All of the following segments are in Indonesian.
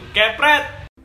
Kepret.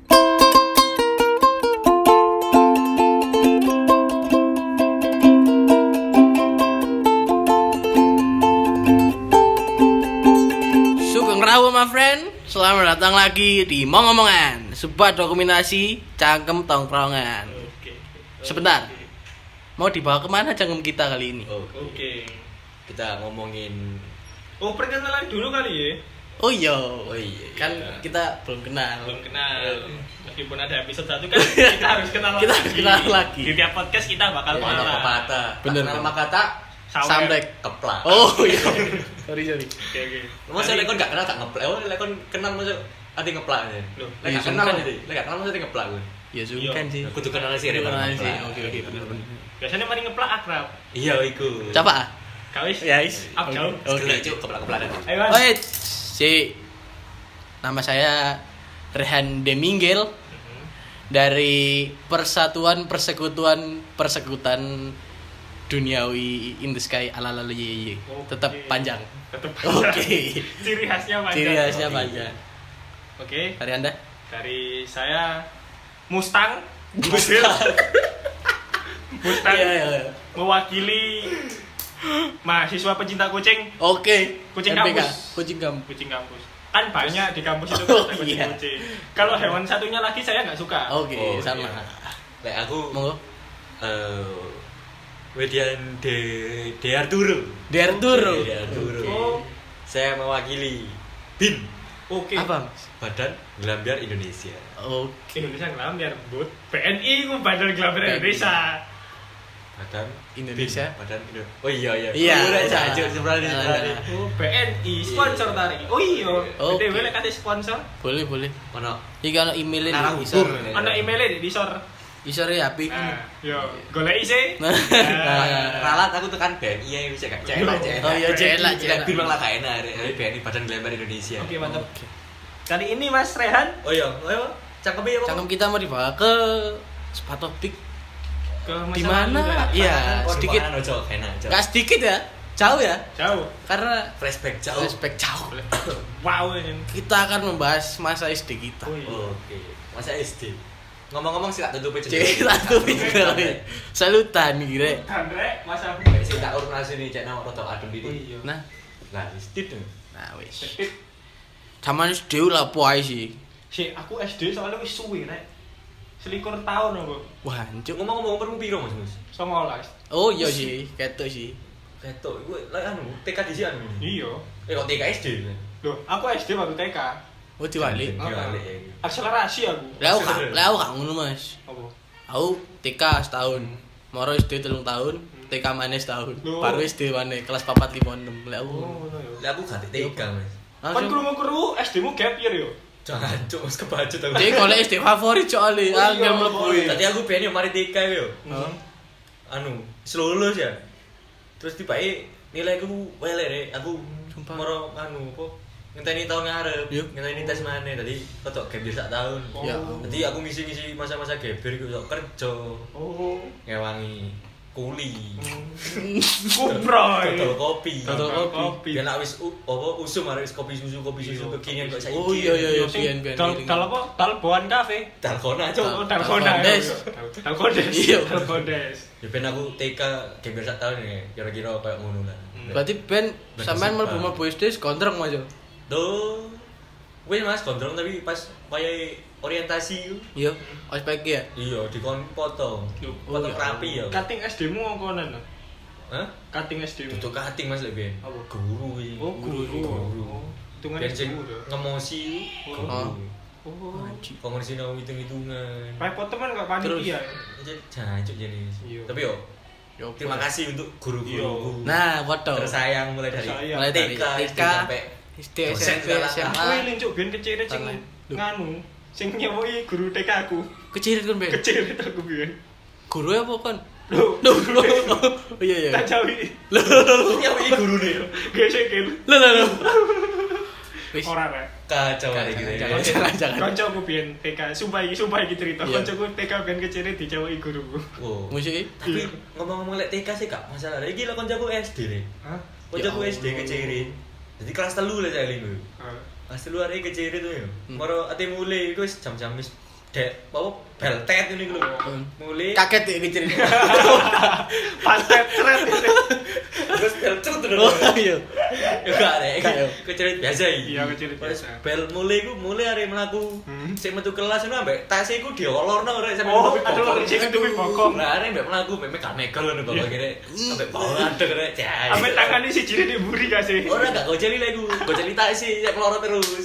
Sugeng Rawu my friend. Selamat datang lagi di Ngomongan, sebuah dokumentasi cangkem tongkrongan. Sebentar. Mau dibawa kemana cangkem kita kali ini? Oke. Kita ngomongin Perkenalan dulu kali ya. Oh iya. kan Kan kita belum kenal. Belum kenal. Meskipun ada episode 1 kan kita harus kenal Kita harus kenal lagi. Di tiap podcast kita bakal mana kenal. pepatah. Bener. Kenal kata Samrek. keplak. Oh iya. Sorry. Oke. Masa lekon gak kenal gak ngeplak. Oh, lekon kenal masuk ati ngeplak aja. Loh, Lek iya, gak kenal sungkan. nanti. Lek gak kenal masuk ngeplak gue. Ya sungkan sih. Aku tuh kenal sih Kudu kenal sih. ngeplak. Oke, bener. Biasanya mari ngeplak akrab. Iya iku. Coba. Kawis. Ya, is. Up jauh. Oke, cuk keplak-keplak nanti. Ayo, Mas. Oh, si nama saya Rehan Demingel dari Persatuan Persekutan Duniawi in the Sky alalalaye. Tetap panjang. Tetap Oke. Ciri khasnya panjang. Ciri khasnya panjang. Oke. Dari Anda? Dari saya Mustang. Mustang. Iya. Mewakili mahasiswa pecinta kucing. Oke. Kucing MPK. kampus. Kucing kampus. Kucing kampus. Kan banyak di kampus itu Oh, ada kucing. iya. Kalau hewan satunya lagi saya nggak suka. Oke, Oh, sama. iya. Lek aku Monggo. Wedian de Arturo. Derturo. De Arturo. Oh. Saya mewakili BIN, Oke. Apa? Mas? Badan Gelambiar Indonesia. Oke. Indonesia ngelambiar but BNI ku Badan Gelambiar Indonesia. Badan Indonesia. BIN, Badan Indonesia. Oh iya. Iya. Udah jajuk sebenarnya. Oh, BNI sponsor tarik. Oh iya. Oke. BTW lek kate sponsor. Boleh. Mana? Iki ana emailin Narang isor. hukum. Ana emailnya di disor. Isor ya apik. Nah, yo, goleki sih. Nah. Ralat aku tekan BNI yang bisa gak celak. Oh iya, celak. BIN malah gak enak. BNI Badan Gelambiar Indonesia. Oke, mantap. Kali ini Mas Rehan Oh iya, ayo. Cangkemnya apa? Cangkem kita mau dibawa ke spa topik ke di masa mana? lalu ya. Iya, Oh, sedikit. di mana, Cok? Enak, Cok. Gak sedikit ya, jauh ya. Jauh. Karena Flashback jauh. respect jauh. Wow ini. Kita akan membahas masa SD kita. Oh, iya. Oke. Masa SD. Ngomong-ngomong sih tak tutup aja. Cek satu pinggir. Salutan nih, Rek. Andre, Mas Abi. Sing tak urut nasi nih cek nang rada adem Oh didi. iya. Nah, Lah, istit tuh. nah wis. Sedikit. Zaman SD lah puai sih. Si aku SD soalnya wis suwi rek. 21 tahun aku. Wah, hancur. Ngomong-ngomong perlu piro Mas Mus? 19. Oh iya sih, ketok sih. Ketok, iku lek anu TK di sini anu. Iya. Kok TK SD? Loh, aku SD baru TK. Oh diwali. Diwali. Akselerasi aku. Lah aku gak ngono, Mas. Apa? Aku TK setahun. Moro SD 3 tahun, TK maneh setahun. Loh. Baru SD maneh kelas 4 5 6. Lah aku. Oh, ngono ya. Lah aku gak TK, Mas. Kan Langsung. krungu-krungu SD-mu gap year yo. Jangan cuk, wis kebacut aku. Jadi kalau SD favorit soalnya, Oh, iya, angel mlebu. boleh. Tadi aku pengen mari TK yo. Heeh. Anu, lulus ya. Terus tiba-tiba nilaiku welek rek. Aku Sumpah. moro anu apa? Ngenteni tahun ngarep. Yuk. Ngenteni tes maneh tadi ketok gap sak tahun. Ya. Jadi aku ngisi-ngisi masa-masa geber iku sok kerja, Oh. ngewangi kuli. Kuproy. Dodol kopi. Dodol kopi. Biar nak wis apa usum arek wis kopi susu kekinian kok saiki. Oh iya pian. Dal apa? Dalboan cafe. Dalgona cuk. Oh, Dalgona. Dalkondes. Dalkondes. Iya. Dalkondes. Ya ben aku TK geber sak tahun ya, kira-kira kayak ngono lah. Berarti ben sampean Berkesan. mlebu SD kontrak Mas yo. Tuh. Wis Mas gondrong tapi pas wayahe orientasi ku. Iya, ospek ya. Iya, dikon foto. Loh, Foto iya. rapi ya. Cutting SD-mu ngkonan. Hah? Cutting SD-mu. Duduk kating Mas lek ben. Apa? Guru iki. Oh, guru. Guru. Hitungan Ben sing guru. ngemosi Oh. guru. Oh. Kok ngerti nang hitung-hitungan. Repot teman gak panitia. ya? Jancuk jadi. Iya. Tapi yo Yo, terima kasih untuk guru-guruku. Nah, foto. Tersayang mulai dari Tersayang. Mulai dari TK TK, sampai SD, dosen SMP, segala SMA. Aku eling cuk ben kecirit sing Tangan. Loh. nganu, sing nyewoki guru TK aku. Kecirit kan, Ben? Kecirit aku biyen. Guru apa kan? Loh, Loh. Oh iya. tak jawi. nyawi guru nih. Gesekin. Loh. Wis. Ora rek. Kacau hari gitu ya. Jangan. Kancaku biyen TK, sumpah iki cerita. Iya. Kancaku TK ben kecirit dijawoki guruku. Wow. Musik. Tapi Iya. ngomong-ngomong lek TK sih gak masalah. Iki lah koncoku SD nih. Hah? Koncoku Ya SD kecirit. Jadi kelas 3 lah saya linggu. Asli luar iki keciri tuh ya. Moro ati mulai iku wis jam-jam wis dek apa beltet ini lho. Mulai Kaget ya kecil. Pantet keren itu. terus beltet terus. Oh iya. Ya gak rek. Gak, ya. Keciri biasa iki. Iya, keciri Wis biasa. bel mulai iku mulai arek mlaku. Sik metu kelas ngono ambek tas iku diolorno rek sampe Oh, nutupi aduh, bokong. cek tutupi bokong. Lah arek mbek mlaku mbek gak nekel ngono bapak kira ambek bau adek rek. Sampai tangannya si jiri diburi gak sih? Ora gak goceli lek iku. Goceli tak sih sik meloro terus.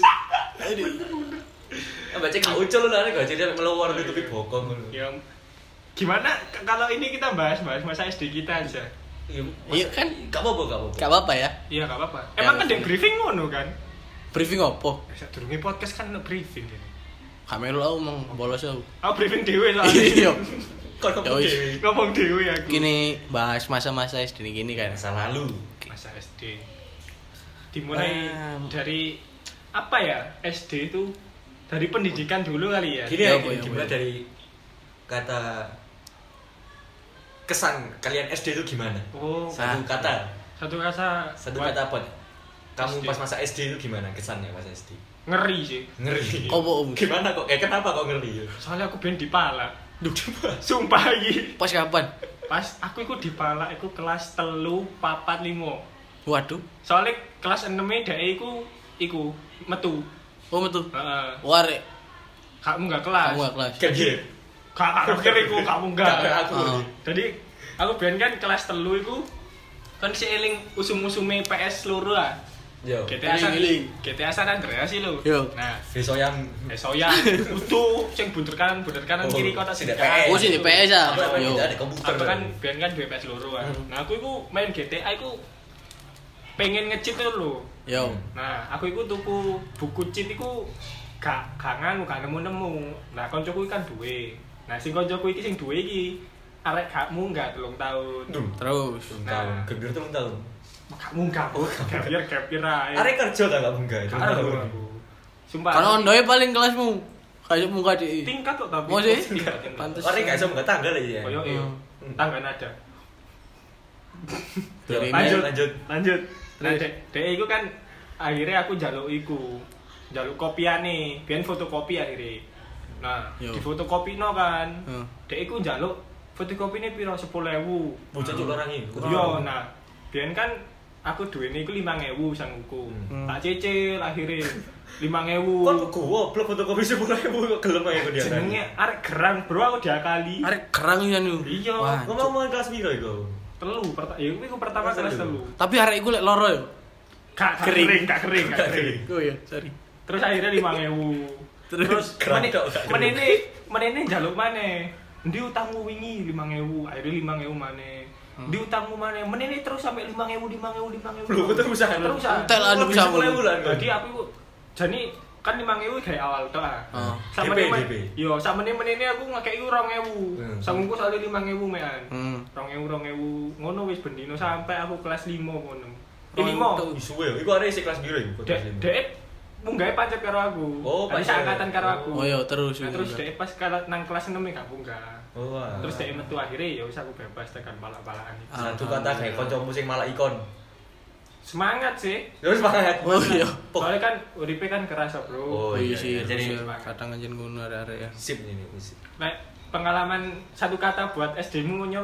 Ambek cek gak ucul lah arek goceli sampe meloro nutupi bokong ngono. Ya, gimana kalau ini kita bahas masa SD kita aja? Iya kan? Gak apa-apa. Gak apa-apa ya. Iya, gak apa-apa. Emang kan di briefing ngono kan? Briefing opo? Sadurunge podcast kan ono briefing ya. Kamera aku mau bolos aku. Oh, briefing dhewe soalnya. Iya. Kok Ya wis. Ngomong dhewe aku. Gini bahas masa-masa SD gini kan. masa lalu. Masa SD. Dimulai Bam. dari apa ya? SD itu dari pendidikan dulu kali ya. Gini Ya, ya, Bu, ya, dimulai Bu. dari kata kesan kalian SD itu gimana? Oh, Satu kata. satu kata Satu buat kata apa? Kamu SD. pas masa SD itu gimana kesannya pas SD? ngeri sih. Ngeri. Opo, Om? Gimana kok? Kenapa kok ngeri? Soalnya aku ben dipala. Duh, Sumpah iki. Pas kapan? Pas aku iku dipala iku kelas 3, 4, 5. Waduh. Soalnya kelas 6 dhek iku metu. Oh betul. Heeh. Warek. Kamu enggak kelas. Kamu gak kelas. kan dia. Kak akhir iku kamu enggak. Aku. Oh. Jadi aku biyen kan kelas 3 iku kan si eling usum-usume PS loro ah. Yo. GTA San Eling-eling. GTA San Andreas sih lho. Yo. Nah, Besoyan. soyan utuh sing bunder kanan Oh, kiri kota si sing DPS. Oh sih di PS ah. Apa Yo. namanya? Ada komputer. Aku kan biyen kan duwe PS loro ah. Nah, aku iku main GTA iku pengen nge-cheat tuh lho. Yo. Nah, aku iku tuku buku cheat iku gak nganu gak nemu-nemu. Nah, koncoku kan duwe. Nah, sing koncoku iki sing duwe iki arek gak munggah 3 tahun. Duh. Terus. Tahun. Gembira 3 tahun. Gak munggah. Gapir ae. Arek kerja ta gak munggah itu. Karo aku. Sumpah. Karena ondoe paling kelasmu. Kayak muka di. tingkat kok tapi. Oh, sih? Tingkat. Pantes. Arek gak iso munggah tangga lah ya. Koyo tangga nada. Dari Lanjut. Nah, dek iku kan akhirnya aku njaluk iku. Njaluk kopiane, biyen fotokopi akhirnya. Nah, Yo. di fotokopino kan. Heeh. Dek iku njaluk fotokopine piro 10.000. Bocah cuk larang iki. Yo, nah, biyen kan aku duwene iku 5.000 sangguku. Tak cicil akhirnya 5.000. Kon goblok fotokopi 10.000 kok gelem ae kok dia. Jenenge arek gerang, Bro, aku diakali. Arek kerang ya nu. Iya. Wah. Ngomong kelas piro iku? Ya iku pertama Kelas kelas 3. telu. Tapi arek iku lek loro yo. Gak Kering. kering. Oh iya, sorry. Terus akhirnya 5.000. Terus Kerang tok, gak kering. menene njaluk maneh. Endi utangmu wingi 5.000, akhirnya 5.000 maneh. Endi utangmu maneh? Menene terus sampai 5.000. Lho, terusan. Terusan. Entel anu Lebih bisa 10.000 lah. Jadi aku iku jane kan 5.000 gawe awal tok ah. Oh. Sama DP. yo sama menene aku ngakei 2.000. Sangguku soalnya 5.000 mean. Hmm. 2.000 ngono wis bendino sampai aku kelas 5 ngono. Oh, 5. Isuwe yo. Iku arek isih kelas piro iku? Dek munggah pancet karo aku. Oh, Tadi pancet. seangkatan karo aku. Oh iya terus. Nah, terus dek pas nang kelas 6 gak munggah. Oh. wah. Terus dek metu akhirnya ya wis aku bebas tekan palak-palakan iki. Satu kata kayak kancamu sing malah ikon. Semangat sih. Terus banget. Oh iya. Soalnya kan uripe kan kerasa, Bro. Oh, Oh iya iya, sih. iya. Jadi- Jadi kadang anjen ngono arek-arek ya. Sip ini, sip. Nek pengalaman satu kata buat SD-mu nyol.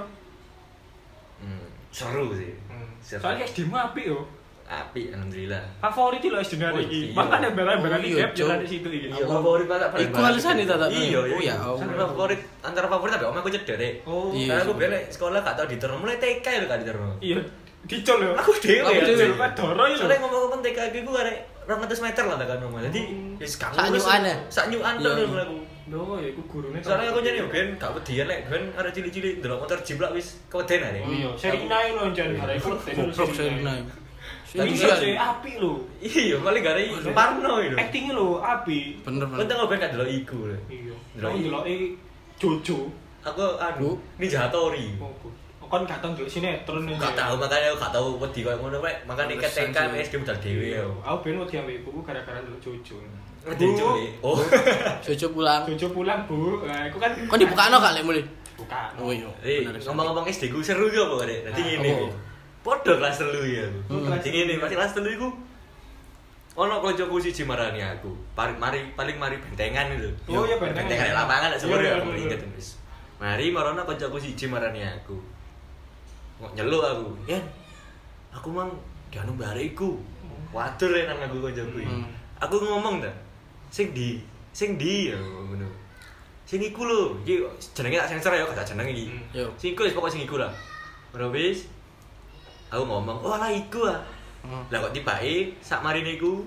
Seru sih. Seru. Soalnya SD-mu apik yo. Apik alhamdulillah. Favorit lho SD Oh, hari iki. iya. Makane barang-barang Oh, iki iya, gap Cok. yo di situ iki. Iya, favorit banget paling. Iku alasan itu tak? Iya, Oh ya. Sampai favorit antara favorit tapi om aku cedek deh. Oh. Iya. Karena aku biar sekolah gak tau diterno mulai TK lho gak diterno. Iya. Dicol yo. Aku dhewe Aku ya. dhewe. Cuk. Kan doro iki lho. Soalnya ngomong-ngomong TK aku arek 200 meter lah tekan omah. Jadi wis gak Sak nyukan ya? Sak nyukan Iya, tok iya. lho aku. Loh, ya iku gurune. Soalnya aku nyari ben gak wedian lek ben arek cilik-cilik ndelok motor jiplak wis keweden arek. Oh iya, seri naik lho jan arek ikut Goblok Serina. Tadi Iya sih. sih apik lho. Iya, paling gak arek Parno itu. Acting lho apik. Bener Lu bener. tau ben gak delok iku lho. Iya. Delok Aku iki. ndeloki Jojo. Aku anu Ninja Hattori. Oh, kon gak tau ndelok sinetron Gak tau makanya aku gak tau wedi koyo ngono rek. Makane Alasan TK sih. SD budal dhewe yo. Aku ben wedi ambek ibuku gara-gara ndelok Jojo. Wedi cuy. Oh. Jojo pulang. Jojo pulang, Bu. Nah, aku kan Kok dibukakno gak lek mulai? buka. Oh iya. Eh, Bener. ngomong-ngomong SD ku seru yo apa rek. Dadi Nah, ngene. apa? Podo kelas 3 ya. Hmm. Dadi ngene, pas kelas 3 iku ono kancaku siji marani aku. Paling mari bentengan itu. Oh iya bentengan. Bentengan di lapangan lek sumur Iya, aku iya, inget wis. Mari marono kancaku siji marani aku. Kok nyeluk aku. Yen. Aku mang dianu bariku. Wadur nang aku kancaku iki. Aku ngomong ta. Sing di ya ngono. Sing iku lho, iki jenenge tak sensor ya, gak jeneng iki. Yo. Sing iku wis pokoke sing iku lah. Ora wis. Aku ngomong, "Oh lah iku ah." Lah kok tibake sak marine iku.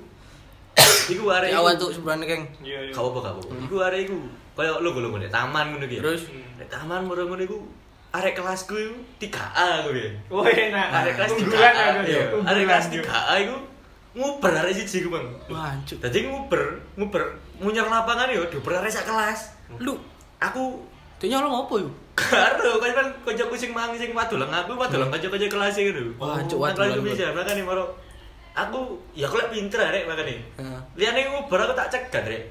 Iku arek. Awan tuh sebenarnya Keng. Iya. Gak apa-apa. Iku arek iku. Kaya lho nek taman ngono iki. Terus Nek taman ngono iku arek kelasku iku 3A aku ya. Oh enak. Arek kelas 3A. Unggulan aku Iya, ya. arek kelas 3A iku nguber arek siji ku, Bang. wancuk. Dadi nguber munyar lapangan yo dioper arek sak kelas. Lu Aku dia nyolong apa yo? karo kan kancaku sing wadolang aku wadolang kanca-kanca kelas e ngono. Wah, cuk, Nang kelas wadolang. bisa makane maro aku ya aku lek pinter arek makane. Heeh. Liyane nguber aku tak cegat rek.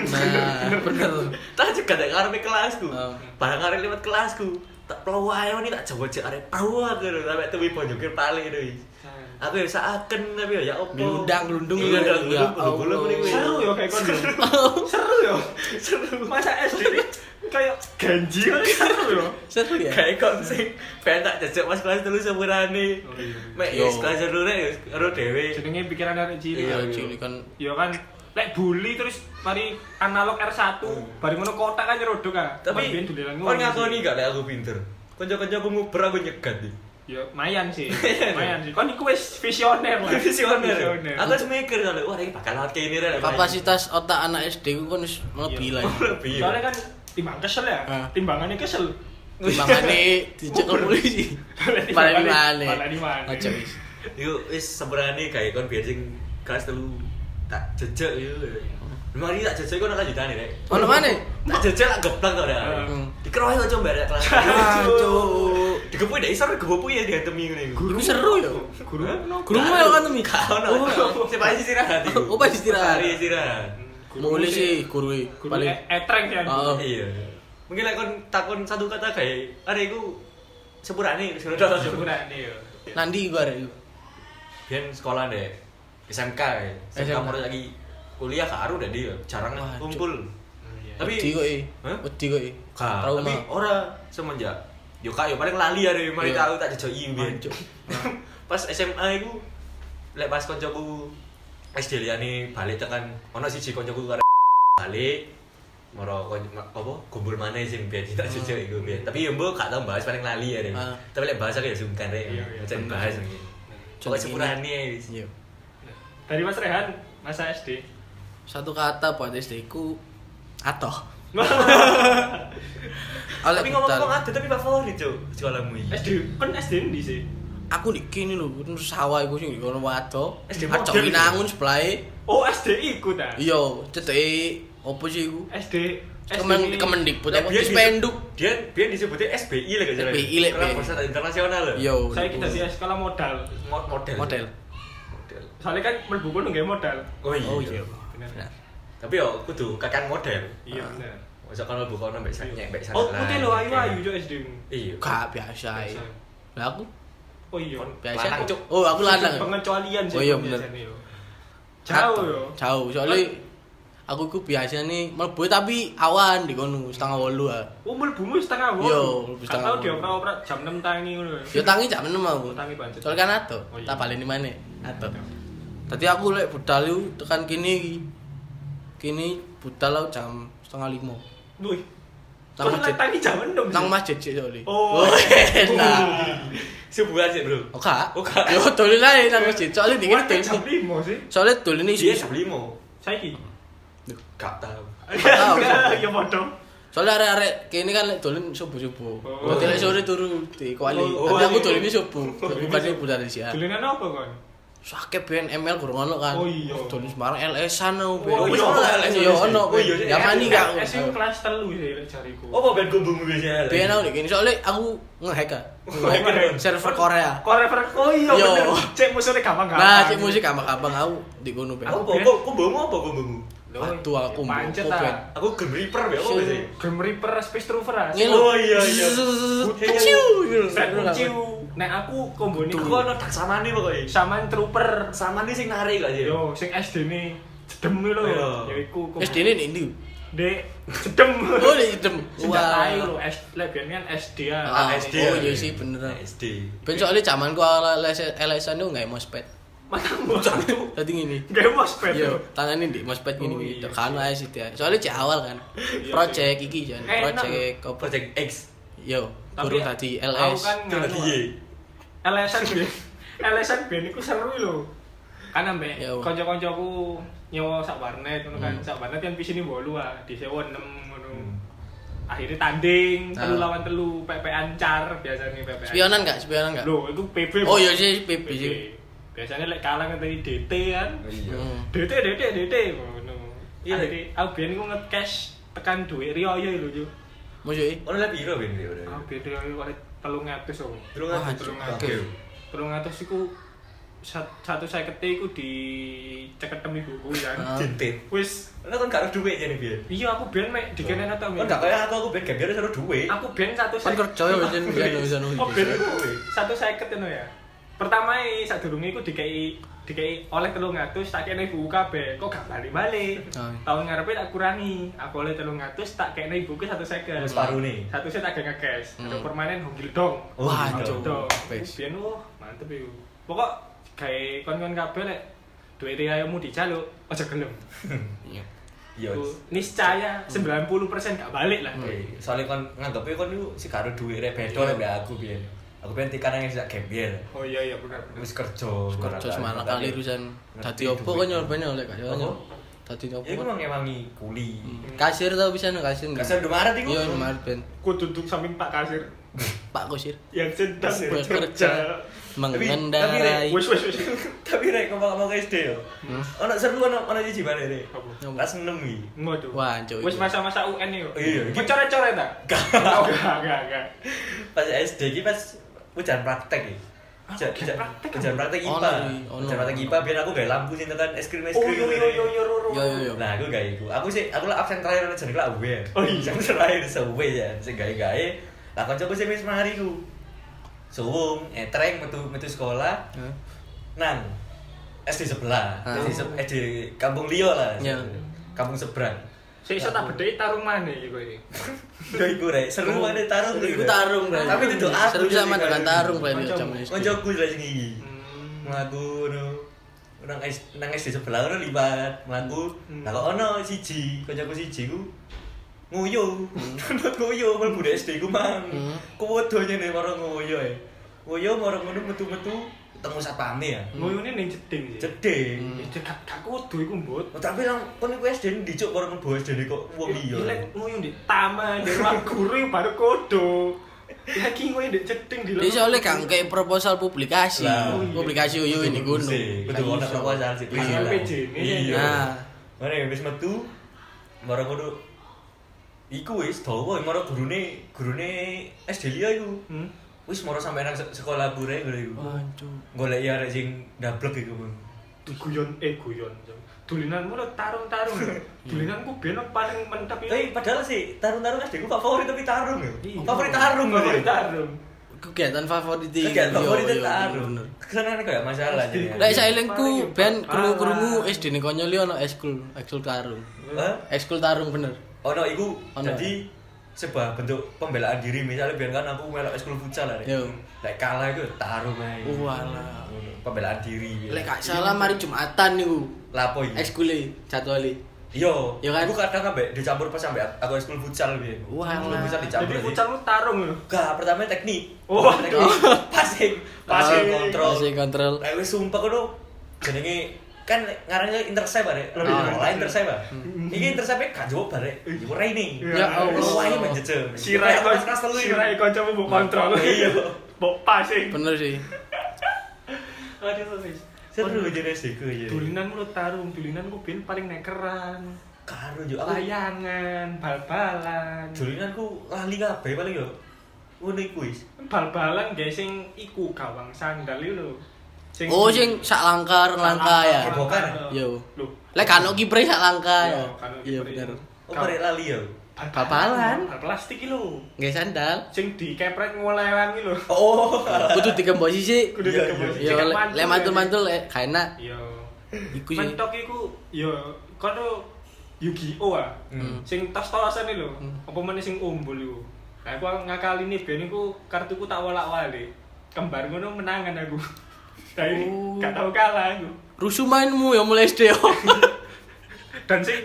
Nah, bener. Tak cegat rek ngarepe kelasku. Oh. Barang arek lewat kelasku. Tak peluwae ni tak jawab arek pawak ngono sampe tuwi bonjoke pale ngono iki. Aku ya saken tapi ya opo. Gelundang-gelundung Iya, ya. gelundung, gelundung ini. Seru ya kayak kono. Seru ya. Seru. Masa SD ini kayak ganji kan seru ya. Seru ya? Kayak kon sing pengen tak jajak pas kelas 3 sepurane. Oh, iya. Mek Yo. wis kelas 3 rek karo dhewe. Jenenge pikiran arek cilik. Iya, Iya, cilik kan. Ya kan lek bully terus mari analog R1 bareng ngono kotak kan nyerodok ah. Tapi Mari dolelan kon ngono ngakoni sih. gak lek aku pinter. Kanca-kancaku nguber aku nyegat iki. Ya mayan sih. Mayan sih. Kon iku wis visioner lah. Visioner. Aku wis mikir kalau wah iki bakal lewat kene rek. Kapasitas otak anak SD ku kan wis melebihi lah. lebih. Soalnya kan timbang kesel ya. Ah. Timbangannya kesel. Timbangane dicekel polisi. Malah di mana? Malah di mana? Aja wis. Iku wis seberani kayak kon biar sing kelas 3 tak jejak yo. Mari tak jejak kon akan jutane rek. Ono maneh? Tak jejak tak geblak to rek. Dikerohi kok coba rek kelas. Aduh. Digepuk ndak iso gegopu ya diantemi ngene iku. Iku seru ya. Guru Guru melo kan temi. Oh, sepasi istirahat iku. Oh, pas istirahat. Hari istirahat. Mulai sih guru e. Guru Paling etreng sih. Oh. Iya. Mungkin lek kon takon satu kata kayak arek iku sepurane wis ngono. Sepurane yo. nanti gua arek. Biyen sekolah deh SMK ya. SMK SMK. mau lagi kuliah karo dah dia jarang Wah, kumpul. Tapi Wedi kok e. Hah? Wedi kok e. Gak, Trauma. tapi ora semenjak yo kak yo paling lali ya mari Iya. tahu tak jejoki biyen. Mancuk. Pas SMA iku lek pas koncoku SD liyane balik tekan ono siji koncoku karo balik moro apa kumpul maneh sing biyen tak jejok iku biyen. Tapi yo mbok gak tau bahas paling lali ya. Ah. Tapi lek bahasa ya sungkan rek. Iya, iya. Jangan bahas iki. Pokoke sepurane wis. Iya. Dari Mas Rehan, masa SD. Satu kata buat SD ku atoh. Tapi ngomong-ngomong ada tapi favorit cuk sekolahmu iki. SD, kan SD ndi sih? Aku di kini lho, terus sawah iku sing kono wato. SD Acok modern Winangun sebelahe. Oh, SD iku ta. Iya, ceteke opo sih iku? SD Kemendikbud apa Biyen Dispenduk. Biyen disebutnya SBI lah gak SBI lek, Sekolah Be. Bahasa Internasional lho. Yo. saya kita sih sekolah modal. Model. Model. Model. Soalnya kan mlebu kono nggih modal. Oh iya. Oh iya. Bener. Tapi yo kudu kakan model. Iya bener. Masa kalau buka ono mbek nyek mbek sana. Oh, putih lo ayu-ayu cuk SD. Iya. Gak biasa e. Lah aku Oh iya. biasa. Lanang, Cuk. Oh, aku lanang. Pengecualian sih. Oh iya bener. biasanya yo. Jauh yo. Jauh, soalnya aku ku biasa nih mlebu tapi awan di kono 7:30 ah. Oh, mlebumu setengah wong. Yo, mlebu Gak setengah tau wong. dioprak-oprak jam 6 tangi ngono. Yo tangi jam 6 aku. Oh, tangi pancet. Soalnya kan ato, Oh, iya. tak baleni maneh. Ato. Tadi aku lek budal iku tekan kini iki. Kini budal aku jam 4:30. Wih. Nang masjid. Tangi jam 6. Nang masjid sih soalnya. Oh. enak. Subuhan sih, Bro. Oh gak? Oh, gak. Yo dolen ae nang masjid. Soalnya dingin Jam dolen. 5 sih. Soalnya dolen Dia iki. jam 5. Saiki. Gak tahu. tahu. Ya padha. Soalnya arek-arek kene kan lek dolen subuh-subuh. Oh. Dadi lek sore turu di kuali. Oh, Tapi aku iya. dolen subuh. Bukannya budal siang. Dolenan apa kon? Sakit ben ML kurang ono kan. Oh, iya. Dolen Semarang LS-an aku ben. Oh, iya, ono LS. Iya ono. Oh, iya, Ya mani gak. SD kelas 3 sih lek jariku. Apa ben gombomu biasa? Ben aku iki soalnya aku nge-hack kan. Nge-hack. Server Korea. Korever. Oh iya Yo. bener. Cek musuhnya gampang-gampang. Nah, cek musik gampang-gampang aku di kono ben. Apa gombomu apa gombomu? Waduh aku pancet mbok, Ben. ah. Aku Grim Reaper ya apa sih? Grim Reaper Space Troopers. Ngene. Oh, iya, iya. Ciu. Kuciu. Nek aku kombone Iku ono daksamane pokoke. Saman trooper. Samane sing narik kok ya. Yo, sing SD-ne jedem lho. Iya. Ya iku SD ini ndi? Dek jedem. Oh, di jedem. Senjata ae lho, lebihan kan SD ya. SD. Oh iya sih bener. SD. Ben soalnya zamanku awal LSN itu enggak mospet. Matamu satu. Tadi gini. Gak mospet Yo, yo. tanganin di mospet Oh, gini. iya. Kan ae sih dia. Soalnya cek awal kan. Iya, Project iki jan. Enak. Project apa? Project X. Yo, Tapi guru tadi Aku LS. kan Tadi nganu, ye. LSN ben. LSN ben iku seru lho. Kan ambek Yo. kanca-kancaku nyewa sak warnet ngono kan. Hmm. Sak warnet kan pisine 8 ah, disewa 6 ngono. Akhirnya tanding, telu Ah. lawan telu, PP-an car biasanya PP-an. Spionan enggak? Spionan enggak? Loh, itu PB. Oh iya sih PP sih. Biasanya lek kalah ngeteni DT kan. Iya. DT ngono. Iya. Akhirnya aku biyen iku nge-cash tekan dhuwit Riyo lho yo. Maksudnya? Ono le piro ben iki ora? Aku biyen Riyo oleh 300 om. Terus Wah, terus oke. 300 iku 150 iku diceketem ibuku ya. Ah. Jintit. Wis Lah kan gak ada duit jane biyen. iya aku biyen mek dikene ta. Kan gak kaya aku ben gambar seru duit. Aku biyen 150. Kan kerja ya jan bisa Oh, ben iku 150 ngono ya. Pertama sadurunge iku dikei oleh 300 tak kene ibuku kabeh. Kok gak bali-bali. Ah. Tahun ngarepe tak kurangi. Aku oleh 300 tak kene ibuku 150. Wis parune. Satu set tak nge-cash. Hmm. Ada permanen Honggil Dong. Wah, Cuk. Dong. Best. Biyen mantep iku. Pokok gawe kon-kon kabeh lek duit riyamu dijaluk aja gelem. Iya. Iya. Ku niscaya 90% gak balik lah. Soalnya kon nganggepe kon iku sik karo duit rek beda mbek aku biyen. Aku pengen tekan yang sak gambar. Oh iya benar. Wis kerja. Kerja semana kali urusan. Dadi opo kok nyoba oleh gak yo. Dadi opo? Ya iku ngewangi kuli. Kasir tau bisa no kasir. Kasar Indomaret iku. Iya, Indomaret ben. Ku duduk samping Pak Kasir Pak Kusir. yang sedang Bekerja. bekerja. Mengendarai. Wis. Tapi rek ngomong SD yo. Hmm. Ono seru ono siji bare rek. Apa? Kelas 6 iki. Ngono. Wah, cuk. Wis masa-masa UN yo. Iya. Coret-coret ta? Enggak. Pas SD iki pas ujian praktek iki. Ujian praktek? Ujian praktek Ono, IPA. ono. Ujian praktek IPA biar aku gawe lampu sing tekan es krim. Oh yo. Yo. Nah, aku gawe iku. Aku lah absen terakhir nek jenenge lah uwe. Oh iya. Absen terakhir sewe ya, sing gawe-gawe. Lah kancaku sing wis mari ku. Suwung, etreng metu sekolah. Hah? Nang SD sebelah. Ah. SD kampung liya lah. Iya. Kampung seberang. Sik iso tak bedheki tarung maneh iki kowe iki. Ya iku rek, seru banget tarung Iku tarung, Bray. Tapi itu aku seru sama jadi dengan tarung. tarung, Bray, Kancamu. zaman SD. Koncoku lah sing iki. Hmm. Mlaku ngono. Nang SD sebelah ngono libat, mlaku. Lah kok ono siji, koncoku siji ku nguyu. Nonton nguyu mlebu SD ku mang. Kuwodo nyene karo nguyu ae. Nguyu marang ngono metu-metu ketemu satpame ya. Nguyune ning jeding sih. Jeding. Gak kudu iku, Mbut. Oh, tapi lang kon iku SD ndicuk karo mlebu SD kok wong liya. Lek nguyu di taman, di ruang guru baru kodo. Lagi nguyu di jeding di Dia soalnya kan kayak proposal publikasi. Lah. Publikasi uyu ini gunung. Kudu ono proposal sih. Hasil PJ ini. Nah. Mare wis metu marang ngono. Iku wis dawa marang gurune SD liya iku. Wis marang sampe nang sekolah gure ngono iku. Wancuk. Golek ya arek sing ndablek iku, Bang. Guyon. Dulinanmu lo tarung-tarung. Dulinanku biyen paling mentep itu. Tapi padahal sih tarung-tarung SD ku favorit tapi tarung ya. Iya. Favorit tarung Favorit tarung. Kegiatan favorit iki. Kegiatan favorit Yo, yo, tarung. bener. Kesana kayak masalah jadi. Lek sailengku ben krungu-krungu SD ne konyol ono ekskul tarung. Hah? Ekskul tarung bener. Ono iku Ono. jadi sebuah bentuk pembelaan diri misalnya biar kan aku melok ekskul futsal lah. Yo. Lek kalah iku tarung ae. Walah. Pembelaan diri. Lek gak salah mari Jumatan niku. Lapo iki? Ekskule jadwale. Iya, Iya kan? aku kadang ambek dicampur pas ambek aku ekskul futsal piye. Wah, Ekskul lah. futsal dicampur. Jadi futsal lu tarung lho. Gak, pertama teknik. Oh, teknik. Passing kontrol. Masih kontrol. Lek wis sumpah kono jenenge kan ngarannya intercept bare. Oh, Lain intercept. Iki intercept gak jawab bare. Iku raining. Ya Allah. Wah, ini menjeje. Sirai kelas telu iki. sirai kancamu mbok kontrol. Iya. Mbok passing. Bener sih. Aduh wis. Seru jadi SD ku ya. Dulinanmu lo tarung, dulinanku biyen paling nekeran. Karo yo aku Layangan, bal-balan. dulinanku lali kabeh paling yo. Ngono iku wis. Bal-balan guys sing iku gawang sandal itu lho. Oh, sing sak langkah ya. Kebokan. Yo. Lho, Lek kan kiper sak langkah Iya, ya. kan Iya kiper. bener. Oh, barek lali ya. Bal-balan. Bal plastik iki lho. Nggih sandal. Sing dikepret ngolewan iki lho. Oh. Kudu digembok sisik. Kudu Iya, dikepret. Ya lek mantul-mantul gak enak. Iya. Iku sih. Mentok iku ya kono Yu-Gi-Oh ah. Sing tos-tosan iki lho. Apa meneh sing umbul iku. Nah, aku ngakali nih ben iku kartuku tak wolak-walik. Kembar ngono menangan aku. Dari gak tau kalah aku. Rusuh mainmu ya mulai SD. Dan sing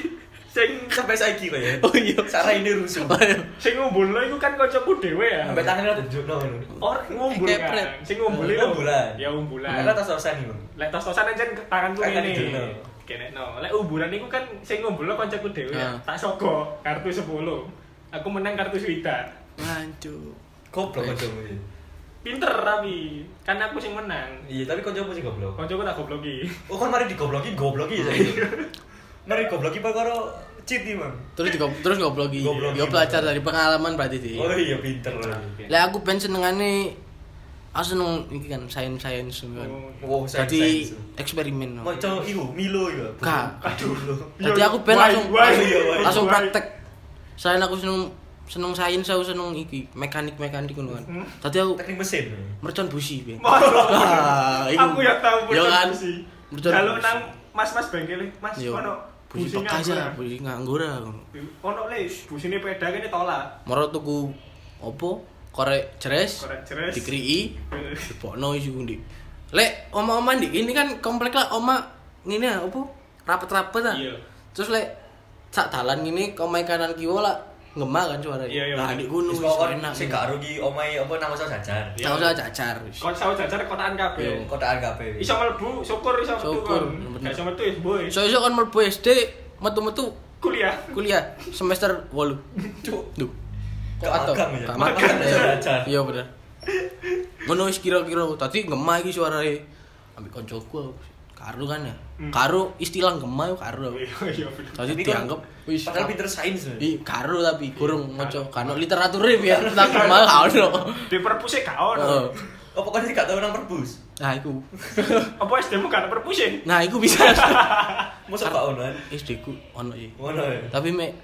Sampai saiki kok ya. Oh iya. Sarai ini rusuh. sing ngumbulno iku kan kancaku dhewe ya. Sampai tangannya tunjukno ngono. Or ngumbul Kepret. kan. Sing ngumbul iku. Umbulan. Ya umbulan. Karena tos-tosan iki. Lek tos-tosan aja tanganku Tangan ngene. dijono. Kenekno. Lek umbulan iku kan sing ngumbulno kancaku dhewe ya. Tak soko kartu 10. Aku menang kartu swidak. Hancur. Goblok kancamu iki. Pinter tapi kan aku sing menang. Iya, tapi kancamu sing goblok. Kancaku tak gobloki. Oh, kan mari digobloki ya saiki. Mari gobloki perkara cheat iki, Mang. Terus ngobloki. Ngobloki. Yo belajar dari pengalaman berarti sih. Oh iya, pinter. Lah aku ben senengane aku seneng iki kan sains kan. Oh, Jadi sains. eksperimen. Maca iku Milo iku. Gak. Aduh. Jadi aku ben Why, langsung why, langsung why? praktek. Selain aku seneng sains, aku seneng iki mekanik ngono kan. Tadi aku Teknik mesin. mercon busi ben. Waduh. Iku. Aku ya tahu Yo kan. sih. Mercon Kalau busi. nang mas-mas bengkel Mas Yo. ono Busi busi bekas nganggur. ya, busi nganggur ya. Ono le busine peda kene tolak. Moro tuku opo? Korek jeres. Korek jeres. Dikrii. Dipokno isi ndi. Lek oma-oma ndik ini kan komplek lah oma ngene ya opo? Rapet-rapet ah. Iya. Terus lek sak dalan ngene omahe kanan kiwa lah ngemah kan suaranya. Iya, iya, Nah, bener. di gunung Wis wis kok enak. sing gak rugi omahe apa nang usaha jajan. Iya. Nggak usah cacar. Kon sawo jajar kotaan kabeh. Kotaan kabeh. Iso mlebu, syukur iso metu Syukur, kon. bener. Gak iso metu ya boy. So-so kan mlebu SD metu-metu Kuliah. kuliah semester 8. Cuk. Duh. Kok Gak atau? magang ya? Gak Magang magang ya. jajan. Iya bener. Ngono wis kira-kira tadi ngemah iki suarane ambek koncoku karo kan ya. Karo istilah ngemah yo karo. Iya bener. Tadi Tapi dianggap wis Padahal pinter sains. karo tapi kurang maca kan literature biar tentang ngemah gak ono. Di perpus e gak ono. Heeh. Oh, pokoknya gak tau nang perbus. Nah iku. Apa SD-mu gak ada perpus e? Nah iku bisa. Mosok gak ono kan? SD ku ono ya. Ngono ya. Tapi mek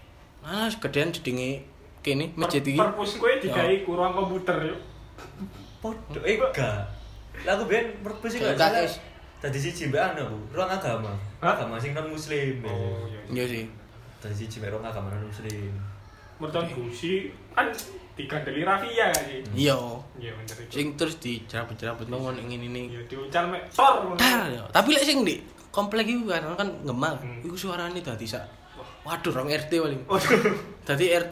gedean jedenge kene masjid iki. Perpus kowe digawe ku ruang komputer yo. Podo gak. Lah aku ben perbus iki gak KS. salah. Tadi siji mbak anu, ruang agama. Hah? Agama sing non muslim. Oh iya. Iya sih. Tadi siji mbak ruang agama non muslim. Merton busi kan digandeli rafia gak sih? Iya. Iya bener itu. Sing terus dicerabut-cerabut nang ngene Iya diuncal mek tor. ngono. Dar, ya. Tapi lek sing di komplek iku kan ngemah. Hmm. Iku suarane dadi sak. Waduh, rong RT paling. Waduh. Dadi RT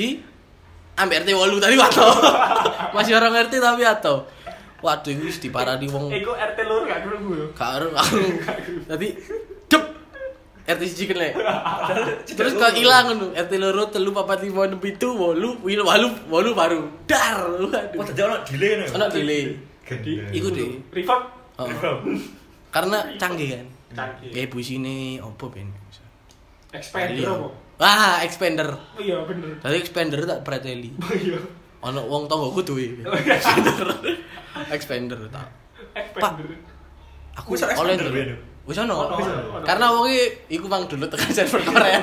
1 ambek RT 8 tadi wato. Masih orang RT tapi wato. Waduh, iku wis diparani wong Iku RT lur gak krungu yo. karo aku. Dadi dep RT 1 kan lek. Terus kok ilang ngono. RT loro 3 4 5 6 7 8 baru. Dar. Oh, Waduh. tadi ono delay nih. Ono delay. Gede. Iku deh. Reverb. Oh. Reverb. Karena canggih kan. Canggih. Kayak busine opo ben. Expander apa? Wah, expander. Oh iya bener. Tadi expander tak preteli. Oh iya. Ono wong tanggoku duwe. Oh, iya. Expander tak. Expander. Aku Wis ono oleh expander, dulu. Ben? Wis ono. Ono. Karena wong iku mang dulu tekan server Korea.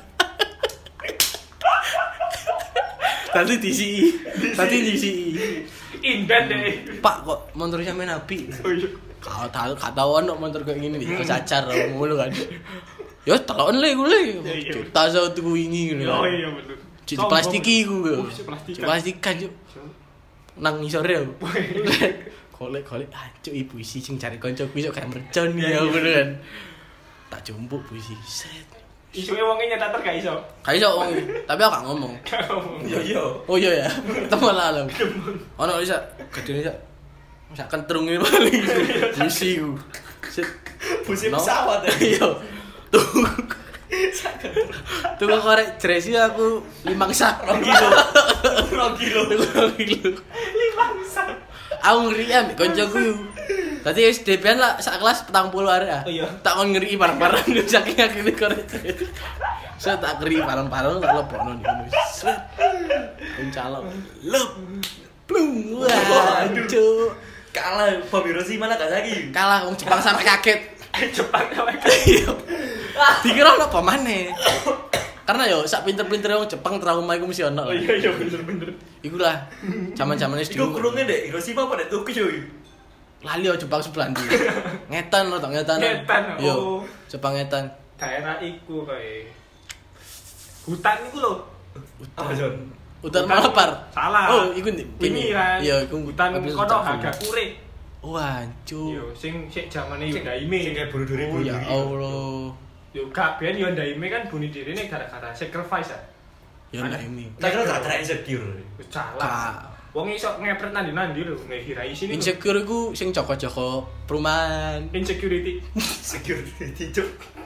Tadi disi. Inden deh. Pak kok motor sampe nabi. Oh iya. Kata ono motor kayak gini nih, kecacar ngono kan. Ya telon le gue le. Iya. Tas tuku wingi ngono. Oh iya bener. Cik plastiki ku. Oh, cik plastikan. Plastikan yo. Nang ngisore aku. Golek-golek cuk ibu isi sing cari kancaku iso kayak mercon ya ngono kan. Tak jumpuk puisi. Set. Isuke wonge nyetak gak iso. Gak iso wong tapi aku gak ngomong. Yo yo. Oh iya ya. Temen lah alam. Ono bisa gedene sak. Sak kentrung ini paling. Puisi ku. Set. Busi No. pesawat ya. Iya. Tuh. Tuh korek dresi aku 5 sak. 2 kilo. 2 kilo. 2 kilo. Bangsa. Aku ngeri ambek koncoku yo. Dadi SD pian lah sak kelas 40 arek ah. Oh iya. Tak kon ngeri barang-barang saking akeh korek. Saya tak ngeri barang-barang tak lebokno ngono. Set. Kuncalok. Lep. Plung. Wah, cuk. Kalah Bobby Rossi malah gak lagi. Kalah wong Jepang sampai kaget. Jepang awake. Iya. Dikira ono apa maneh? Karena yo sak pinter-pintere wong Jepang trauma iku mesti ono. Oh iya bener. Iku lah zaman-zaman SD. Iku kurunge ndek Hiroshima apa ndek Tokyo iki? Lali yo Jepang sebelah ndi. Ngetan lho, ngetan. Ngetan, Yo, oh. Jepang ngetan. Daerah iku kae. Hutan iku lho. Apa Jon? Hutan Malabar. Salah. Oh, iku ndi? Ini kan. Iya, iku hutan kono Hagakure. Wancuk. Yo sing zamane Hyundai-me. Sing kayak bunuh diri. Oh ya Allah. Yo gak ben Hyundai-me kan bunuh dirine gara-gara sacrifice ya. Ya ndak ini. Tak kira gara-gara insecure. Wis salah. Wong iso ngepret nandi-nandi lho nek Hirai sini. Insecure iku sing joko-joko perumahan. Insecurity. Security cuk.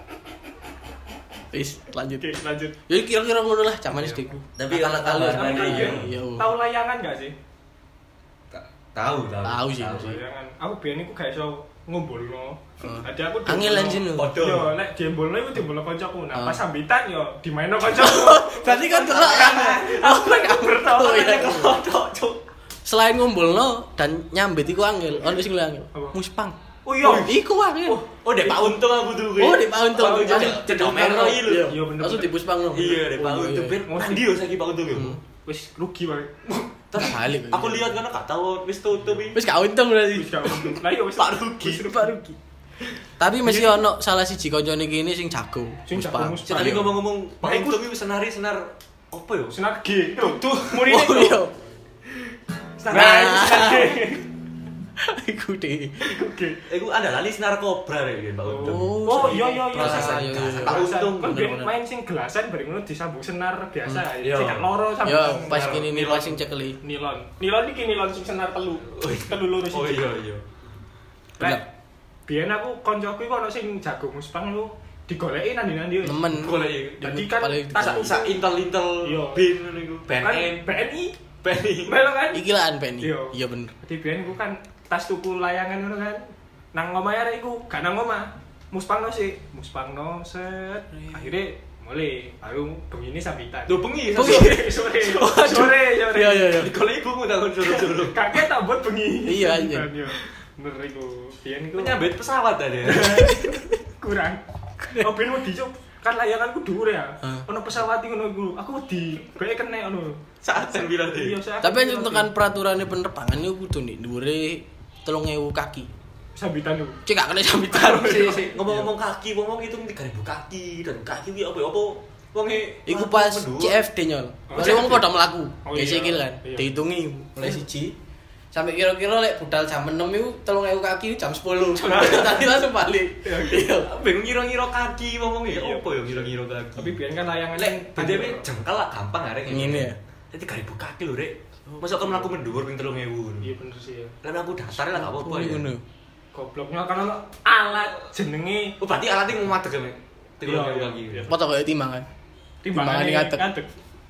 Wis lanjut. Oke, lanjut. Ya kira-kira ngono lah zaman SD ku. Tapi kalau kalau Tapi iya. Iya. tahu layangan gak sih? Tahu. Tahu sih. Layangan. Aku biyen iku gak iso ngumpulno. Dadi aku Angel anjing lho. Yo nek diembolno iku diembolno kancaku. Nah, pas sambitan yo dimainno kancaku. Berarti kan delok kan. Aku gak bertahu Oh, iya. nek kodok, Cuk. Selain ngumpulno dan nyambit iku angel. Ono sing angel. Apa? Muspang. Oh iya. Iku angel. Oh, dek Pak Untung aku tuh. Oh, di Pak Untung. Cedok merah iki lho. Iya, bener. Langsung di Puspang lho. Iya, dek Pak Oh, Untung. iya. Ben mandi yo saiki Pak Untung yo. Wis rugi wae. Terus balik. Aku lihat kan gak tahu wis tutup iki. Wis gak untung berarti. Wis gak untung. Lah iya wis Pak rugi. Pak rugi. Tapi mesti ono salah siji kancane kene sing jago. Sing jago Muspang. Muspang. Tapi ngomong-ngomong Pak Baik, Untung iki senar apa yo? Senar G. Tuh, murine Oh tuh. iya. Senar G. Iku deh. Oke. Iku ada lali senar kobra rek Pak Untung. Oh iya. Prosesan iya, iya. Pak Untung kan biyen bener-bener. main sing gelasan bareng ngono disambung senar biasa. Iya. Sing gak loro sampe. Ya pas kini nih pas sing cekeli. Nilon. Nilon iki nilon sing senar telu. Telu loro Oh siji. iya. Bener. Biyen aku koncoku iku ono sing jago muspang lu digoleki nandi-nandi wis. Nemen. Golek Jadi kan Paling tas sak intel Iya. bin ngono iku. kan BNN. BNI BNI. melo kan. Iki lah Penny. Iya. Iya bener. Jadi biyen ku kan tas tuku layangan ngono kan. Nang omah arek iku, gak nang omah. Muspangno sih, muspangno set. Akhirnya mulai baru begini sambitan. Lho bengi. Sore. Iya iya iya. Golek ibu tak suruh-suruh. Kakek tak buat bengi. Iya, iya. Bener iku. Biyen iku Menyambit pesawat tadi. kurang. Oh biyen wedi cuk. Kan layanganku dhuwur ya. Heeh. Ono pesawat iki ngono iku. Aku wedi. Bae kena ngono. Saat 9 deh. Iya, saya Tapi untuk kan peraturannya penerbangan itu kudu nih dhuwure 3000 kaki. sambitan lu. Cek gak kena sambitan. Ngomong-ngomong kaki, ngomong itu 3000 kaki dan kaki ki apa wonge Iku pas CFD nyol. Oh, Masih wong CFD. padha mlaku. Oh, Ya iya. sikil kan. Iya. Dihitungi mulai siji sampai kira-kira lek budal jam 6 itu 3000 kaki jam 10. Tadi langsung balik. Iya. bingung ngira-ngira kaki ngomong ya Iya. apa ya ngira-ngira kaki. Tapi biyen kan layangan lek BTW jengkal lah gampang arek Ngene ya. Jadi 3000 kaki lho rek. Masa kamu mlaku mendhuwur ping 3000. Iya bener sih ya. Lah aku datar lah gak apa-apa ya. Ngono. Gobloknya kan ono alat jenenge Oh berarti alatnya mau madeg ya. 3000 Iya, kaki. iya. Foto kayak timbangan. timbangan ngadeg. ngadeg.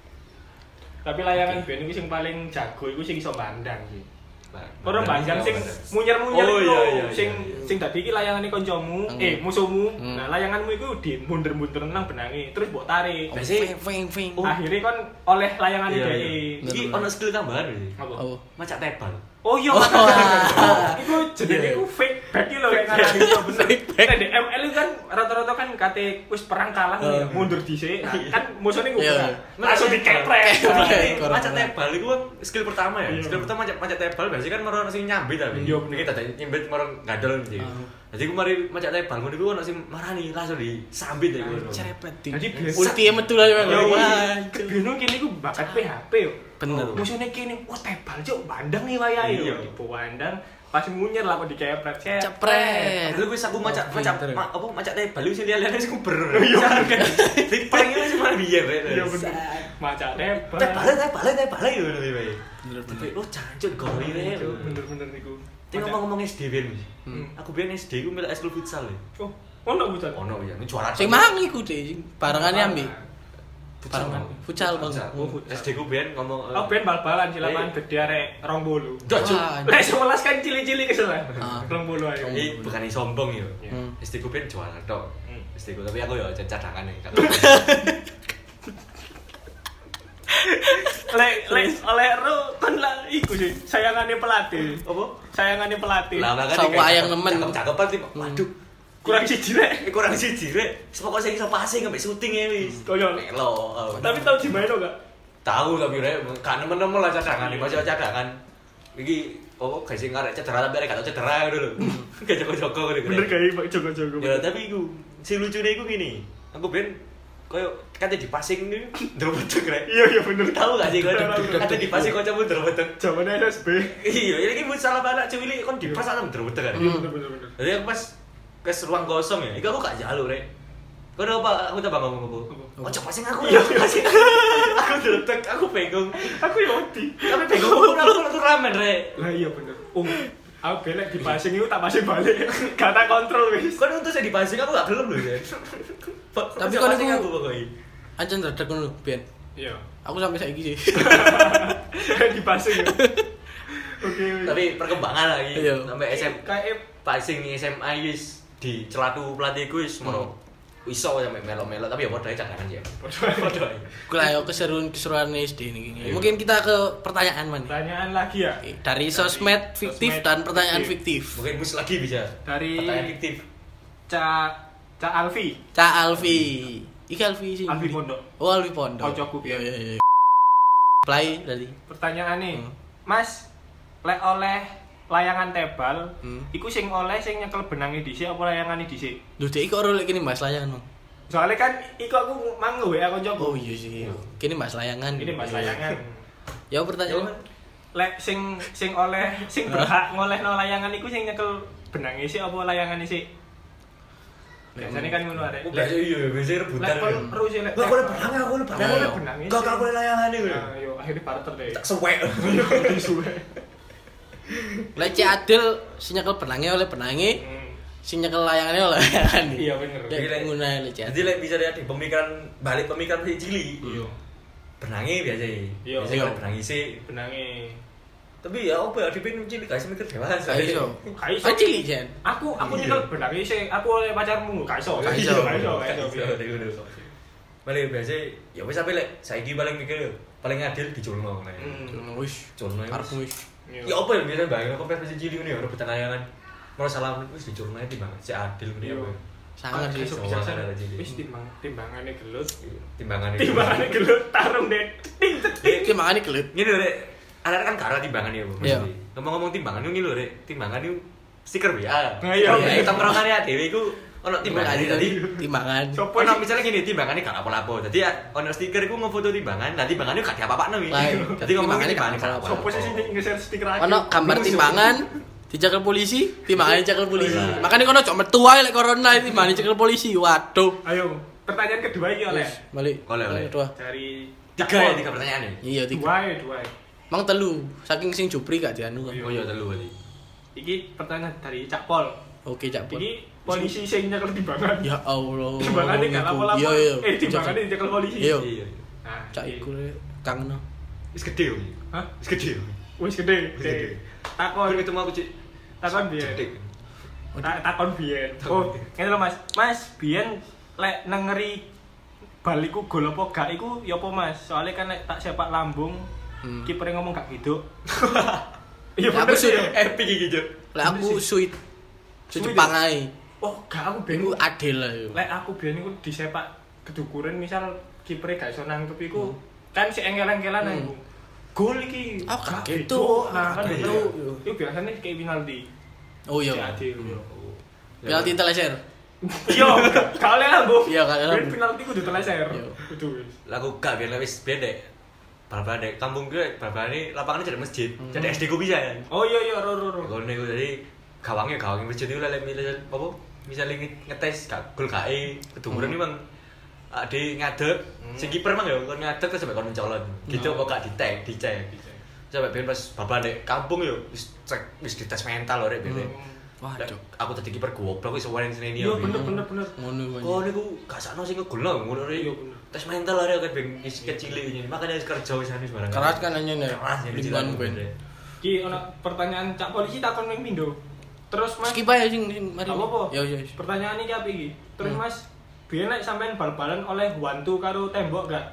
Tapi layangan biyen iku sing paling jago iku sing iso bandang sih. Ora bandang sing munyer-munyer Oh, iku iya, lho, iya, sing iya. sing dadi iki layangane kancamu, musuhmu. Nah, layanganmu iku di mundur-mundur nang benange, terus mbok tarik. Biasanya- Feng feng. Akhirnya kan oleh layangane Iya, dhek. iya. Iki ono skill tambahan iki. Apa? Oh. Macak tebal. Oh iya, Oh, makanya. Iku jenenge Iya. iku fake back iki lho kayak ngarani iso bener. Fake back. Nek di ML itu kan rata-rata kan kate wis perang kalah nih, mundur dhisik. Nah, kan musuhnya Iya. ngumpul. Langsung dikeprek. Keprek. Macak tebal itu kan skill pertama ya. Iya. Skill pertama macak tebal biasanya kan meron sing nyambit tapi. Iya, bener. Kita tadi nyambit meron gadol gitu. Jadi aku mari macak tebal ngono iku ono sing marani langsung disambit ya ngono. Cerepet. Jadi biasa- ulti metu lah Ya Wah. kebino kene iku bakat PHP yo. Bener. Musuhnya kene, wah tebal cuk, bandang nih wayahe Iya. yo. Dipandang pas munyer lah kok dikepret. Cepret. Lalu wis aku macak Oh, pinter. apa macak tebal wis lihat-lihat wis kuber. Iya. Di prank wis malah biyen rek. Iya bener. Maca tebal. Tebal yo ngono iki. Bener, Tapi bener. oh cancuk gori rek. Bener-bener niku. Tapi ngomong-ngomong SD biyen. Hmm. Aku biyen SD ku milih eskul futsal ya. Oh, ono bucan. Ono ya, ini juara. Sing mang iku deh, barangane ambil. Barengan futsal Bang. Oh, futsal. SD ku biyen ngomong Oh, ben bal-balan di lapangan gede arek 20. Cuk. Wah, Lek 11 kan cili-cili keselan. Ah. 20 ayo. Ini bukan sombong ya. Hmm. SD ku biyen juara tok. Hmm. SD ku tapi aku ya cadangan nih. Lek oleh ro kan lah iku sih sayangane pelatih. Apa? Sayangane pelatih. Lah makane Sapa kayak yang nemen. Cakep-cakepan sih. Waduh. Kurang siji rek. Kurang siji rek. Pokoke sing iso passing ambek syuting e wis. Koyo melo. Tapi tau dimaino gak? Tahu tapi rek kan nemen-nemen lah cadangan iki, masih cadangan. Iki guys sing arek cedera tapi arek gak tau cedera ngono lho. Gak jago-jago ngono. Bener gawe Pak jago-jago. Ya tapi iku sing lucune iku gini. Aku ben koyo kate di passing iki ndrobetek rek. Iya bener. Tahu gak sih kowe kate di passing kancamu ndrobetek. Jamane SSB. Iya, ini salah anak cilik kon di pas ana ndrobetek kan. Iya bener. Jadi aku pas ke ruang kosong ya, iku aku gak jalur rek. Kau apa? Aku coba ngomong apa? Oh coba passing aku ya, passing. Aku ndrobetek, aku bingung. Aku ya wedi. Tapi bingung aku ramen rek. Lah iya bener. Aku belek di passing itu tak passing balik. Gak tak kontrol wis. Kon untuk saya di passing aku gak gelem lho ya. Tapi kon passing iku aku pokoknya. ancen redek ngono Ben. Iya. Aku sampai saiki sih. Di passing. Oke. Tapi perkembangan lagi Iya. sampai SM kayak passing nih SMA wis di celatu pelatihku wis mono. Iso sampai melo-melo tapi ya padha cadangan ya. Padha. Ku lah yo keseruan SD niki. Mungkin kita ke pertanyaan man. pertanyaan lagi ya. Dari sosmed fiktif dan pertanyaan fiktif. Mungkin mus lagi bisa. Dari pertanyaan fiktif. Ca Alfi. Cak Alfi. Iki Alfi sih. Alfi Pondok. Oh, Alfi Pondok. Kocokku, Iya iya iya. Play tadi. Pertanyaan nih. Mas, lek oleh layangan tebal, iku sing oleh sing nyekel benange dhisik apa layangane dhisik? Lho dek iki ora lek kene Mas layangan. Mang. Soalnya kan iku aku mang WA koncoku. Oh iya sih. Kene Mas layangan. Ini Mas layangan. Ya pertanyaan. Lek sing oleh sing berhak ngolehno layangan iku sing nyekel benange sik apa layangane sik? Biasanya kan ngono arek. Iya, biasanya rebutan. Lek kon terus lek. Lah aku benang aku benang. Lek benange. Kok aku layangan iki. Nah, yo akhirnya barter deh. Tak suwek. Suwe. Lek Cik Adil sing nyekel benange oleh benange, sing nyekel layangane oleh layangane. Iya bener. Lek ngono lek Cik Jadi lek bisa lihat di pemikiran balik pemikiran si Cili. Iya. Benangi biasa. Iya. Biasa kalau benangi sih. Benange. Tapi ya apa ya dipin cilik guys mikir dewasa. Gak iso. Gak iso. Cilik jen. Aku Iya. nyekel benange sik aku oleh pacarmu gak iso. Gak iso. Gak iso. Balik biasa ya wis sampe lek saiki paling mikir yo paling adil diculno nek. Wis, Culno karepmu wis. Ya apa ya biasa bayang apa versi cilik ngene ya rebutan layangan. Mau salah wis diculno ae timbang si adil ngene ya. Sangat sih. Iso bisa wis timbangane gelut. Timbangane Gelut tarung deh. Iki mangane gelut. Ngene lho rek. Ada kan karo timbangan ya, Bu. Iya. Ngomong-ngomong timbangan ini lho, Rek. Timbangan itu stiker WA. Nah, iya. Ya, tongkrongan ya dhewe iku ono timbangan tadi. Timbangan. Sopo Ono misalnya gini, timbangannya gak apa-apa. Jadi ono stiker iku ngefoto timbangan, nah timbangannya gak diapa-apakno iki. Jadi ngomong timbangannya gak apa-apa. Sopo sih nge-share stiker aja. Ono gambar timbangan dicekel polisi, timbangannya dicekel polisi. Makanya kono cok metu ae lek corona iki timbangane dicekel polisi. Waduh. Ayo, pertanyaan kedua iki oleh. Balik. Oleh. Kedua. Dari Tiga pertanyaan nih. Iya, tiga. Dua. Mang telu, saking sing jupri gak dianu kan. Oh iya telu berarti. Iki pertanyaan dari Cak Pol. Oke, Cak Pol. Iki polisi sing nyekel timbangan. Ya Allah. Timbangannya gak lapo-lapo. Iya. Timbangannya nyekel polisi. Iya. Iya. Nah, Cak iku kangen. Wis gede yo. Hah? Wis gede yo. Wis gede. Kon Takon ketemu aku Cik. biyen. Cedik. Takon biyen. Oh, ngene lho Mas. Mas, biyen lek nengeri baliku gol apa gak iku ya apa Mas? Soalnya kan lek tak sepak lambung kiper ngomong gak gitu. Iya Aku sih Epic iki, Cuk. lek aku sweet. Sweet Jepang ae. Oh, gak aku ben Iku adil lah yo. lek aku biyen iku disepak kedukuran misal kiper gak iso nangkep iku kan si engkel-engkelan aku. Gol iki. Oh, gak gitu. Nah, kan Gak gitu. gitu. Itu biasanya kayak penalti. Oh iya. Adil. Penalti teleser. Iya, gak oleh lambung. Iya, gak oleh lambung. Penalti kudu teleser. Iya. Kudu wis. Lagu gak biar wis beda. Bal-balan dek kampung gue, bal-balan ini lapangannya jadi masjid. Jadi SD gue bisa kan. Oh iya ro. Kalau nih gue jadi gawangnya masjid itu lah misalnya apa? Misalnya ngetes gol KE kedukuran ini bang. Ade ngadeg, si kiper mang ya, kon ngadeg terus sampai kon mencolot. Gitu kok gak dicek. Sampai ben pas bal-balan dek kampung yo wis dites mental lho rek ben. Waduh. Aku tadi kiper goblok wis warin sini Iya bener. Ngono Oh niku gak sakno sing ngegolno ngono rek. Iya, bener. Tes mental lho kan ben kecil ini. Makanya kerja wis anu barang. Keras kan hanya nih. Keras ya Lingkungan ben. Ki ono pertanyaan Cak Polisi takon ning pindho. Terus Mas, Skip aja sing mari. apa? Ya. Pertanyaan iki apa iki? Terus Mas, biyen nek sampean bal-balan oleh wantu karo tembok gak?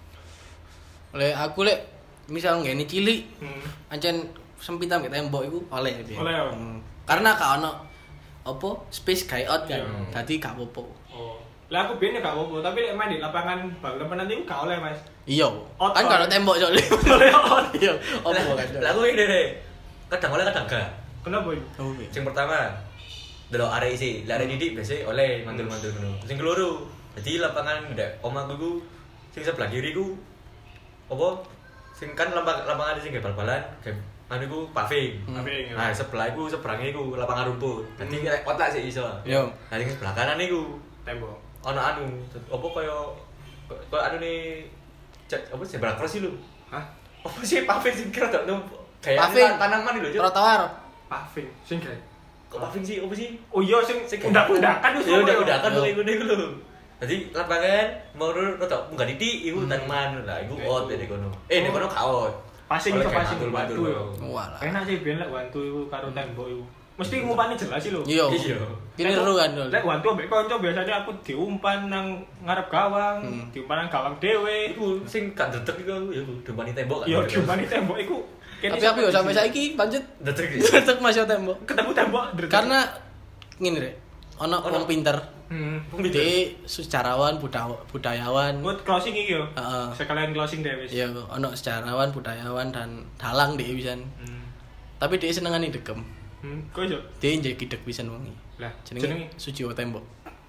Oleh aku lek misal ngene cilik, Hmm. ancen sempit ambek tembok iku oleh piye. Oleh, ya? Karena gak ono apa space guy out kan. Dadi gak apa-apa. Oh. Lah aku biyen gak apa-apa, tapi lek main di lapangan bal-balan nanti gak oleh, Mas. Iya. Kan kalau tembok soalnya. Iya. Apa kan. Lah aku ini deh. Kadang oleh kadang gak. Kenapa itu? Oh. Sing pertama delok arek isi, lek arek didik biasa oleh mantul-mantul ngono. Sing keloro, dadi lapangan ndek omahku iku sing sebelah kiri ku apa? Sing kan lapangan sing bal-balan, anu iku paving. Paving. Nah, sebelah iku seberange iku lapangan rumput. Dadi rek kotak sik iso. Yo. Nah, sing sebelah kanan iku Tembok. ono anu, apa kaya anu ne apa zebra cross iki lho. Hah? Apa sih paving sing kira tok kayak Paving. tanaman lho, Cuk. Trotoar. Paving. Sing gawe. Kok paving sih? Apa sih? Oh iya sing undak-undakan wis. Ya undak-undakan kok iku lho. Dadi lapangan mau rada munggah titik iku tanaman lah iku out dene kono. Nek kono gak out. Passing Oleh iso kayak passing mantul-mantul. batu. Walah. Enak sih ben lek wantu iku karo tembok iku. Mesti ngumpani jelas sih lho. Iya. Iya. Kini seru kan dol. Lek wantu ambek kanca biasanya aku diumpan nang ngarep gawang, diumpan nang gawang dhewe. Iku sing gak dedek iku aku ya dempani tembok kan. Iya, diumpani tembok iku. Tapi aku yo sampai saiki pancet dedek. tetep masih tembok. ketemu tembok dretek. Karena ngene rek. Ono wong pinter. Di sejarawan, budayawan. Buat closing iki yo. Heeh. Sekalian closing deh wis. Iya, ono sejarawan, budayawan dan dalang dhewe pisan. Tapi dia senengane degem. Kok iso? Dia njeki deg pisan wongi. Lah, Jenenge Sujiwo Tembok.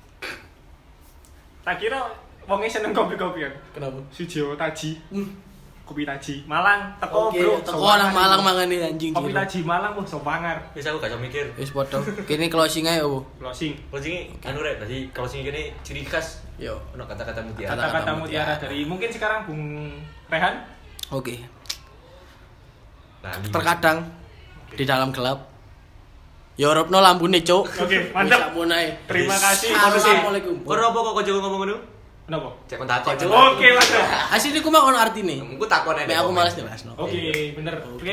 tak kira wonge seneng kopi-kopian. Kenapa? Sujiwo Taji. Kopi Taji Malang teko Oke, bro. teko nang Malang mangane anjing. Kopi Taji Malang wah sopangar. Wis aku gak iso mikir. Wis padha. Kene closing ae opo? Closing. Closing anu rek, tadi closing kene ciri khas Yo. ono kata-kata mutiara. Kata-kata mutiara dari mungkin sekarang Bung Rehan. Oke. Nah, Terkadang di dalam gelap ya urupno lampune, Cuk. Oke, mantap. Wis samunae. Terima kasih. Assalamualaikum. Ora apa kok kok jago ngomong ngono? Kenapa? Cek kon takon, Cuk. Oke, Mas. Asline ku mah ono artine. Engko takon Nek aku males jelasno. Oke, bener.